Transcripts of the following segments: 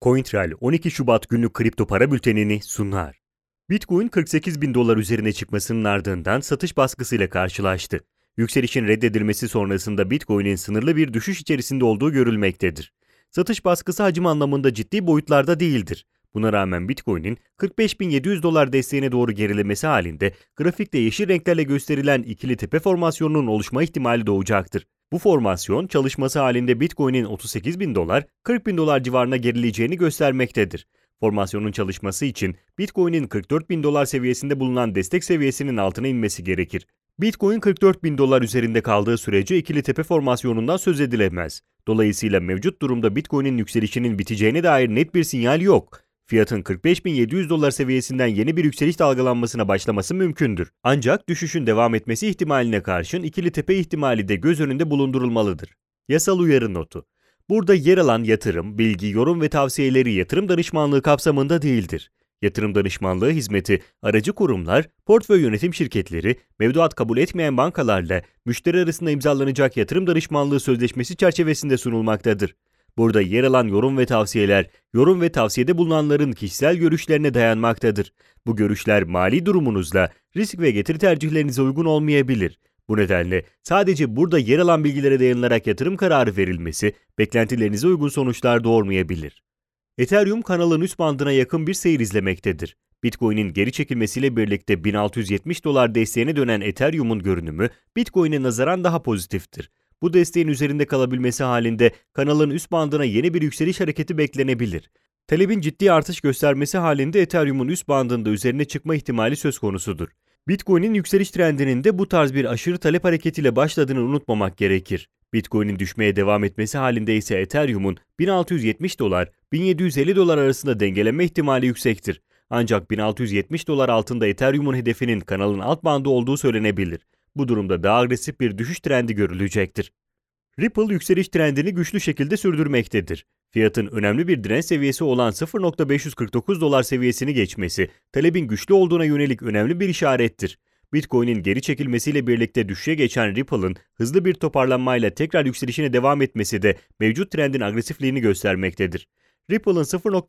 CoinTrail 12 Şubat günlük kripto para bültenini sunar. Bitcoin 48 bin dolar üzerine çıkmasının ardından satış baskısıyla karşılaştı. Yükselişin reddedilmesi sonrasında Bitcoin'in sınırlı bir düşüş içerisinde olduğu görülmektedir. Satış baskısı hacim anlamında ciddi boyutlarda değildir. Buna rağmen Bitcoin'in 45.700 dolar desteğine doğru gerilemesi halinde grafikte yeşil renklerle gösterilen ikili tepe formasyonunun oluşma ihtimali doğacaktır. Bu formasyon çalışması halinde Bitcoin'in 38 bin dolar, 40 bin dolar civarına gerileyeceğini göstermektedir. Formasyonun çalışması için Bitcoin'in 44 bin dolar seviyesinde bulunan destek seviyesinin altına inmesi gerekir. Bitcoin 44 bin dolar üzerinde kaldığı sürece ikili tepe formasyonundan söz edilemez. Dolayısıyla mevcut durumda Bitcoin'in yükselişinin biteceğine dair net bir sinyal yok. Fiyatın 45.700 dolar seviyesinden yeni bir yükseliş dalgalanmasına başlaması mümkündür. Ancak düşüşün devam etmesi ihtimaline karşın ikili tepe ihtimali de göz önünde bulundurulmalıdır. Yasal uyarı notu. Burada yer alan yatırım, bilgi, yorum ve tavsiyeleri yatırım danışmanlığı kapsamında değildir. Yatırım danışmanlığı hizmeti, aracı kurumlar, portföy yönetim şirketleri, mevduat kabul etmeyen bankalarla müşteri arasında imzalanacak yatırım danışmanlığı sözleşmesi çerçevesinde sunulmaktadır. Burada yer alan yorum ve tavsiyeler, yorum ve tavsiyede bulunanların kişisel görüşlerine dayanmaktadır. Bu görüşler mali durumunuzla, risk ve getiri tercihlerinize uygun olmayabilir. Bu nedenle sadece burada yer alan bilgilere dayanılarak yatırım kararı verilmesi, beklentilerinize uygun sonuçlar doğurmayabilir. Ethereum kanalın üst bandına yakın bir seyir izlemektedir. Bitcoin'in geri çekilmesiyle birlikte 1670 dolar desteğine dönen Ethereum'un görünümü Bitcoin'e nazaran daha pozitiftir. Bu desteğin üzerinde kalabilmesi halinde kanalın üst bandına yeni bir yükseliş hareketi beklenebilir. Talebin ciddi artış göstermesi halinde Ethereum'un üst bandında üzerine çıkma ihtimali söz konusudur. Bitcoin'in yükseliş trendinin de bu tarz bir aşırı talep hareketiyle başladığını unutmamak gerekir. Bitcoin'in düşmeye devam etmesi halinde ise Ethereum'un 1670 dolar, 1750 dolar arasında dengeleme ihtimali yüksektir. Ancak 1670 dolar altında Ethereum'un hedefinin kanalın alt bandı olduğu söylenebilir. Bu durumda daha agresif bir düşüş trendi görülecektir. Ripple yükseliş trendini güçlü şekilde sürdürmektedir. Fiyatın önemli bir direnç seviyesi olan 0.549 dolar seviyesini geçmesi, talebin güçlü olduğuna yönelik önemli bir işarettir. Bitcoin'in geri çekilmesiyle birlikte düşüşe geçen Ripple'ın hızlı bir toparlanmayla tekrar yükselişine devam etmesi de mevcut trendin agresifliğini göstermektedir. Ripple'ın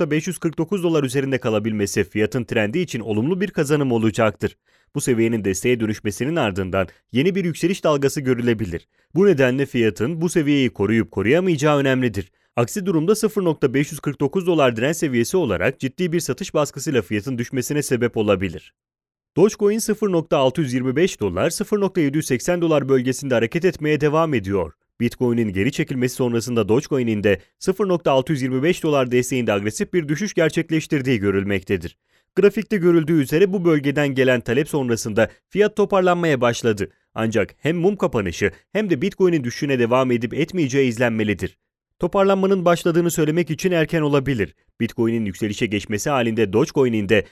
0.549 dolar üzerinde kalabilmesi fiyatın trendi için olumlu bir kazanım olacaktır. Bu seviyenin desteğe dönüşmesinin ardından yeni bir yükseliş dalgası görülebilir. Bu nedenle fiyatın bu seviyeyi koruyup koruyamayacağı önemlidir. Aksi durumda 0.549 dolar direnç seviyesi olarak ciddi bir satış baskısıyla fiyatın düşmesine sebep olabilir. Dogecoin 0.625 dolar, 0.780 dolar bölgesinde hareket etmeye devam ediyor. Bitcoin'in geri çekilmesi sonrasında Dogecoin'in de 0.625 dolar desteğinde agresif bir düşüş gerçekleştirdiği görülmektedir. Grafikte görüldüğü üzere bu bölgeden gelen talep sonrasında fiyat toparlanmaya başladı. Ancak hem mum kapanışı hem de Bitcoin'in düşüşüne devam edip etmeyeceği izlenmelidir. Toparlanmanın başladığını söylemek için erken olabilir. Bitcoin'in yükselişe geçmesi halinde Dogecoin'in de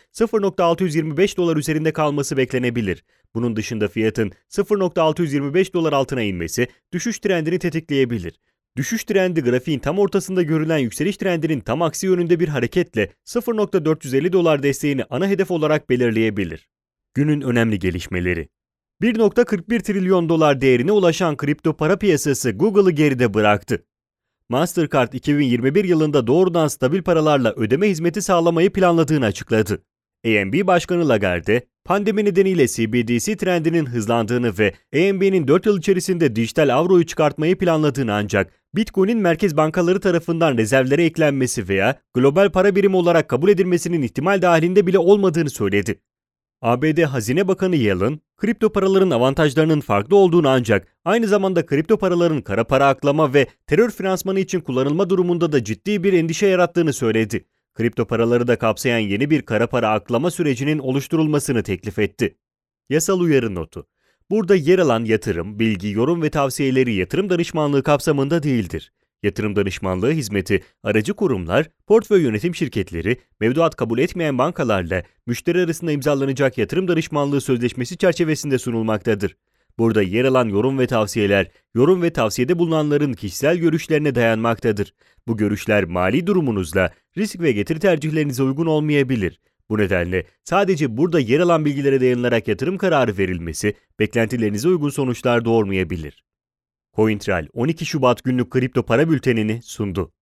0.625 dolar üzerinde kalması beklenebilir. Bunun dışında fiyatın 0.625 dolar altına inmesi düşüş trendini tetikleyebilir. Düşüş trendi grafiğin tam ortasında görülen yükseliş trendinin tam aksi yönünde bir hareketle 0.450 dolar desteğini ana hedef olarak belirleyebilir. Günün önemli gelişmeleri. 1.41 trilyon dolar değerine ulaşan kripto para piyasası Google'ı geride bıraktı. Mastercard 2021 yılında doğrudan stabil paralarla ödeme hizmeti sağlamayı planladığını açıkladı. AMB Başkanı Lagarde, pandemi nedeniyle CBDC trendinin hızlandığını ve AMB'nin 4 yıl içerisinde dijital avroyu çıkartmayı planladığını ancak Bitcoin'in merkez bankaları tarafından rezervlere eklenmesi veya global para birimi olarak kabul edilmesinin ihtimal dahilinde bile olmadığını söyledi. ABD Hazine Bakanı Yellen, kripto paraların avantajlarının farklı olduğunu ancak aynı zamanda kripto paraların kara para aklama ve terör finansmanı için kullanılma durumunda da ciddi bir endişe yarattığını söyledi. Kripto paraları da kapsayan yeni bir kara para aklama sürecinin oluşturulmasını teklif etti. Yasal uyarı notu. Burada yer alan yatırım, bilgi, yorum ve tavsiyeleri yatırım danışmanlığı kapsamında değildir. Yatırım danışmanlığı hizmeti, aracı kurumlar, portföy yönetim şirketleri, mevduat kabul etmeyen bankalarla müşteri arasında imzalanacak yatırım danışmanlığı sözleşmesi çerçevesinde sunulmaktadır. Burada yer alan yorum ve tavsiyeler, yorum ve tavsiyede bulunanların kişisel görüşlerine dayanmaktadır. Bu görüşler mali durumunuzla, risk ve getiri tercihlerinize uygun olmayabilir. Bu nedenle sadece burada yer alan bilgilere dayanılarak yatırım kararı verilmesi, beklentilerinize uygun sonuçlar doğurmayabilir. CoinTrail 12 Şubat günlük kripto para bültenini sundu.